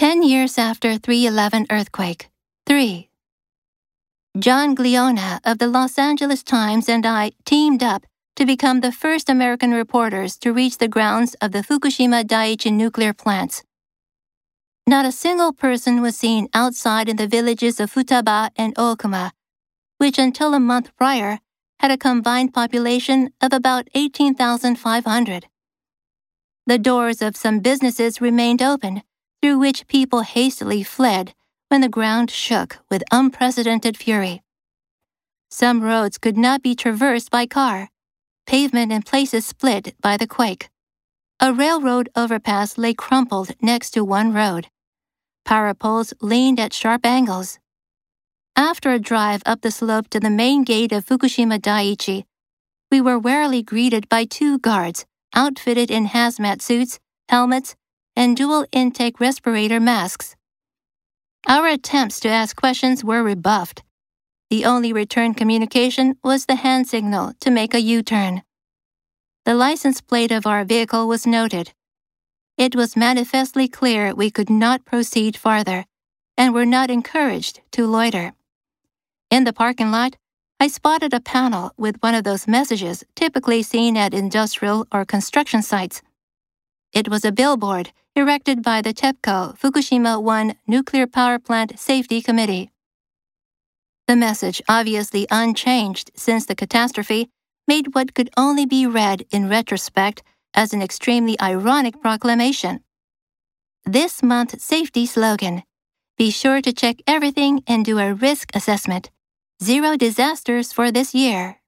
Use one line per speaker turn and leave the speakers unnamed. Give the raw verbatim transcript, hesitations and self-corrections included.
Ten years after three eleven earthquake. three. John Gliona of the Los Angeles Times and I teamed up to become the first American reporters to reach the grounds of the Fukushima Daiichi nuclear plants. Not a single person was seen outside in the villages of Futaba and Okuma, which until a month prior had a combined population of about eighteen thousand five hundred. The doors of some businesses remained open, through which people hastily fled when the ground shook with unprecedented fury. Some roads could not be traversed by car, pavement in places split by the quake. A railroad overpass lay crumpled next to one road. Power poles leaned at sharp angles. After a drive up the slope to the main gate of Fukushima Daiichi, we were warily greeted by two guards outfitted in hazmat suits, helmets, and dual intake respirator masks. Our attempts to ask questions were rebuffed. The only return communication was the hand signal to make a U-turn. The license plate of our vehicle was noted. It was manifestly clear we could not proceed farther, and were not encouraged to loiter. In the parking lot, I spotted a panel with one of those messages typically seen at industrial or construction sites. It was a billboard erected by the TEPCO Fukushima one Nuclear Power Plant Safety Committee. The message, obviously unchanged since the catastrophe, made what could only be read in retrospect as an extremely ironic proclamation. This month's safety slogan: be sure to check everything and do a risk assessment. Zero disasters for this year.